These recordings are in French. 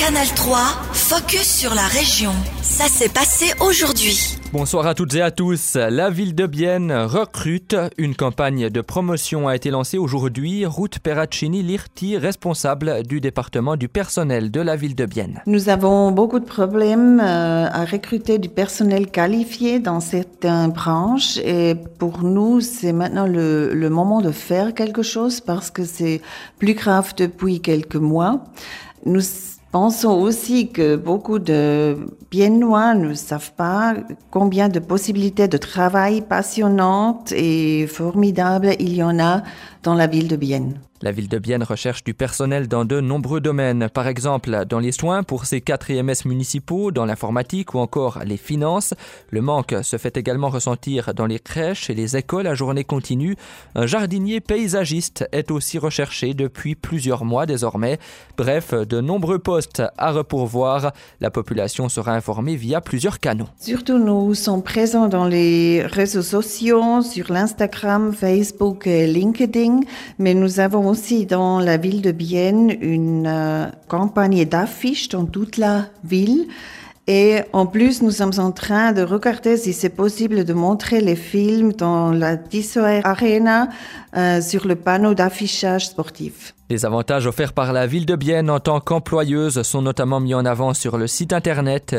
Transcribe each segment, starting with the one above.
Canal 3, focus sur la région. Ça s'est passé aujourd'hui. Bonsoir à toutes et à tous. La ville de Bienne recrute. Une campagne de promotion a été lancée aujourd'hui. Ruth Perraccini-Lirti, responsable du département du personnel de la ville de Bienne. Nous avons beaucoup de problèmes à recruter du personnel qualifié dans certaines branches et pour nous, c'est maintenant le moment de faire quelque chose parce que c'est plus grave depuis quelques mois. Nous pensons aussi que beaucoup de Biennois ne savent pas combien de possibilités de travail passionnantes et formidables il y en a dans la ville de Bienne. La ville de Bienne recherche du personnel dans de nombreux domaines. Par exemple, dans les soins pour ses 4 EMS municipaux, dans l'informatique ou encore les finances. Le manque se fait également ressentir dans les crèches et les écoles à journée continue. Un jardinier paysagiste est aussi recherché depuis plusieurs mois désormais. Bref, de nombreux postes à repourvoir. La population sera informée via plusieurs canaux. Surtout, nous sommes présents dans les réseaux sociaux, sur l'Instagram, Facebook et LinkedIn, mais nous avons aussi dans la ville de Bienne une campagne d'affiches dans toute la ville. Et en plus, nous sommes en train de regarder si c'est possible de montrer les films dans la Tissot Arena sur le panneau d'affichage sportif. Les avantages offerts par la ville de Bienne en tant qu'employeuse sont notamment mis en avant sur le site internet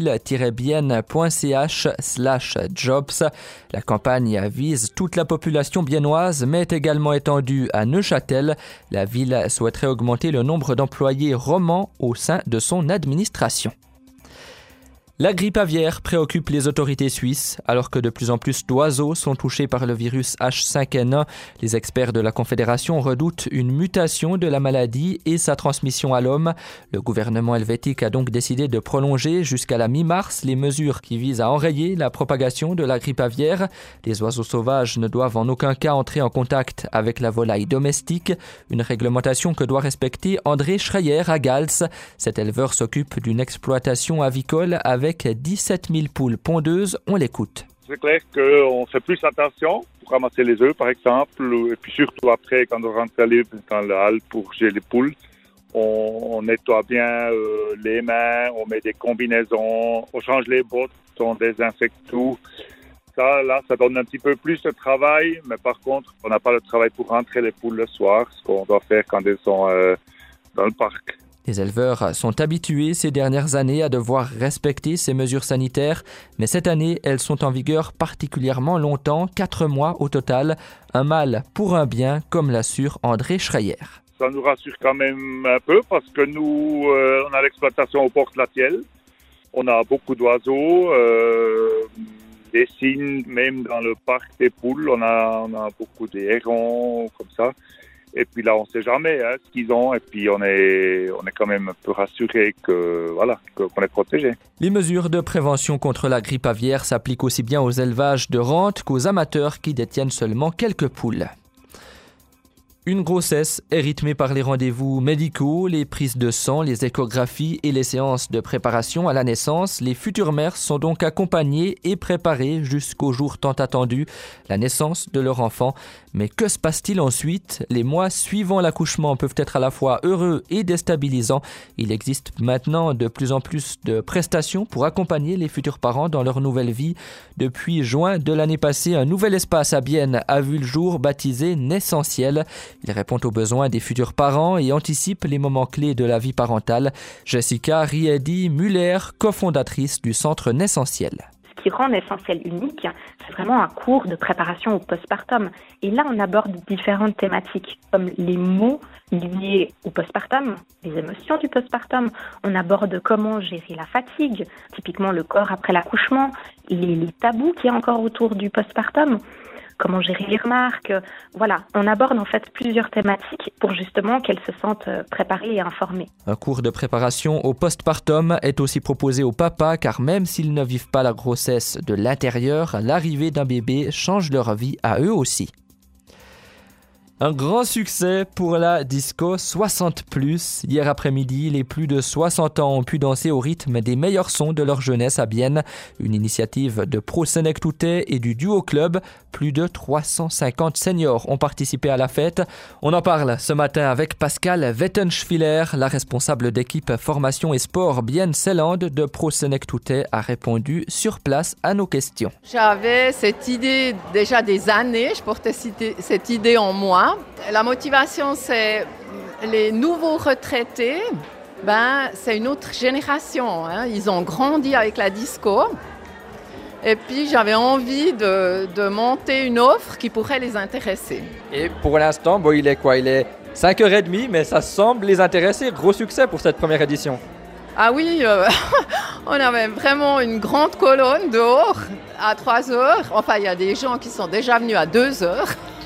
bill-bienne.ch/jobs. La campagne vise toute la population biennoise, mais est également étendue à Neuchâtel. La ville souhaiterait augmenter le nombre d'employés romans au sein de son administration. La grippe aviaire préoccupe les autorités suisses, alors que de plus en plus d'oiseaux sont touchés par le virus H5N1. Les experts de la Confédération redoutent une mutation de la maladie et sa transmission à l'homme. Le gouvernement helvétique a donc décidé de prolonger jusqu'à la mi-mars les mesures qui visent à enrayer la propagation de la grippe aviaire. Les oiseaux sauvages ne doivent en aucun cas entrer en contact avec la volaille domestique, une réglementation que doit respecter André Schreier à Gals. Cet éleveur s'occupe d'une exploitation avicole avec 17 000 poules pondeuses, on l'écoute. C'est clair qu'on fait plus attention pour ramasser les œufs, par exemple, et puis surtout après, quand on rentre dans la halle pour gérer les poules, on nettoie bien les mains, on met des combinaisons, on change les bottes, on désinfecte tout. Ça donne un petit peu plus de travail, mais par contre, on n'a pas le travail pour rentrer les poules le soir, ce qu'on doit faire quand elles sont dans le parc. Les éleveurs sont habitués ces dernières années à devoir respecter ces mesures sanitaires, mais cette année, elles sont en vigueur particulièrement longtemps, 4 mois au total. Un mal pour un bien, comme l'assure André Schreier. Ça nous rassure quand même un peu parce que nous, on a l'exploitation au Porte-Latiel. On a beaucoup d'oiseaux, des cygnes, même dans le parc des poules, on a beaucoup des hérons, comme ça. Et puis là, on ne sait jamais ce qu'ils ont. Et puis, on est quand même un peu rassuré qu'on est protégé. Les mesures de prévention contre la grippe aviaire s'appliquent aussi bien aux élevages de rente qu'aux amateurs qui détiennent seulement quelques poules. Une grossesse est rythmée par les rendez-vous médicaux, les prises de sang, les échographies et les séances de préparation à la naissance. Les futures mères sont donc accompagnées et préparées jusqu'au jour tant attendu, la naissance de leur enfant. Mais que se passe-t-il ensuite ? Les mois suivant l'accouchement peuvent être à la fois heureux et déstabilisants. Il existe maintenant de plus en plus de prestations pour accompagner les futurs parents dans leur nouvelle vie. Depuis juin de l'année passée, un nouvel espace à Bienne a vu le jour baptisé Naissentiel. Il répond aux besoins des futurs parents et anticipe les moments clés de la vie parentale. Jessica Riedi-Muller, cofondatrice du centre Naissentiel. Ce qui rend Naissentiel unique, c'est vraiment un cours de préparation au postpartum. Et là, on aborde différentes thématiques, comme les mots liés au postpartum, les émotions du postpartum. On aborde comment gérer la fatigue, typiquement le corps après l'accouchement, les tabous qu'il y a encore autour du postpartum. Comment gérer les remarques. Voilà, on aborde en fait plusieurs thématiques pour justement qu'elles se sentent préparées et informées. Un cours de préparation au postpartum est aussi proposé aux papas car même s'ils ne vivent pas la grossesse de l'intérieur, l'arrivée d'un bébé change leur vie à eux aussi. Un grand succès pour la disco 60+. Hier après-midi, les plus de 60 ans ont pu danser au rythme des meilleurs sons de leur jeunesse à Bienne. Une initiative de Pro Senectute et du Duo Club. Plus de 350 seniors ont participé à la fête. On en parle ce matin avec Pascal Wettenschwiller, la responsable d'équipe formation et sport Bienne-Seeland de Pro Senectute, a répondu sur place à nos questions. J'avais cette idée déjà des années, je portais cette idée en moi. La motivation, c'est les nouveaux retraités, c'est une autre génération. Ils ont grandi avec la disco. Et puis, j'avais envie de monter une offre qui pourrait les intéresser. Et pour l'instant, il est quoi ? Il est 5h30, mais ça semble les intéresser. Gros succès pour cette première édition. Ah oui, on avait vraiment une grande colonne dehors à 3h. Enfin, il y a des gens qui sont déjà venus à 2h.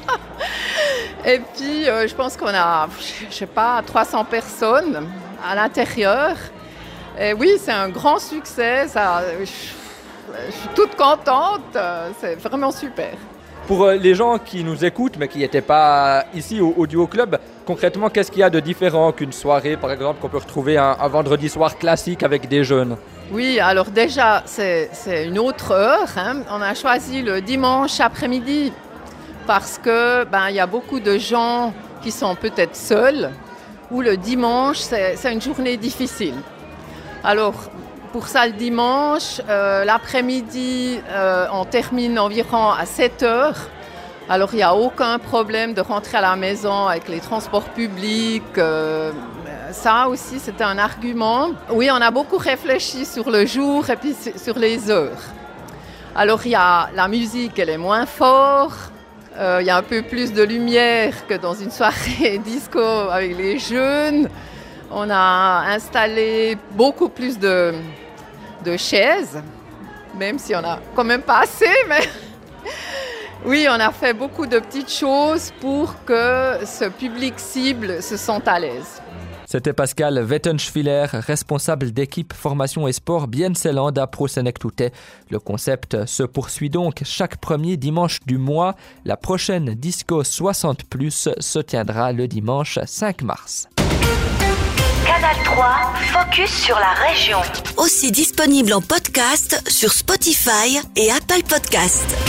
Et puis, je pense qu'on a, 300 personnes à l'intérieur. Et oui, c'est un grand succès. Je suis toute contente. C'est vraiment super. Pour les gens qui nous écoutent, mais qui n'étaient pas ici au Duo Club, concrètement, qu'est-ce qu'il y a de différent qu'une soirée, par exemple, qu'on peut retrouver un vendredi soir classique avec des jeunes ? Oui, alors déjà, c'est une autre heure. On a choisi le dimanche après-midi parce que il y a beaucoup de gens qui sont peut-être seuls ou le dimanche, c'est une journée difficile. Alors, pour ça, le dimanche, l'après-midi, on termine environ à 7h. Alors, il n'y a aucun problème de rentrer à la maison avec les transports publics. Ça aussi, c'était un argument. Oui, on a beaucoup réfléchi sur le jour et puis sur les heures. Alors, il y a la musique, elle est moins forte. Il y a un peu plus de lumière que dans une soirée disco avec les jeunes. On a installé beaucoup plus de chaises, même si on n'a quand même pas assez, mais oui, on a fait beaucoup de petites choses pour que ce public cible se sente à l'aise. C'était Pascal Wettenschwiller, responsable d'équipe formation et sport Bienne-Seeland à Pro Senectute. Le concept se poursuit donc chaque premier dimanche du mois. La prochaine Disco 60+ se tiendra le dimanche 5 mars. Canal 3, focus sur la région. Aussi disponible en podcast sur Spotify et Apple Podcasts.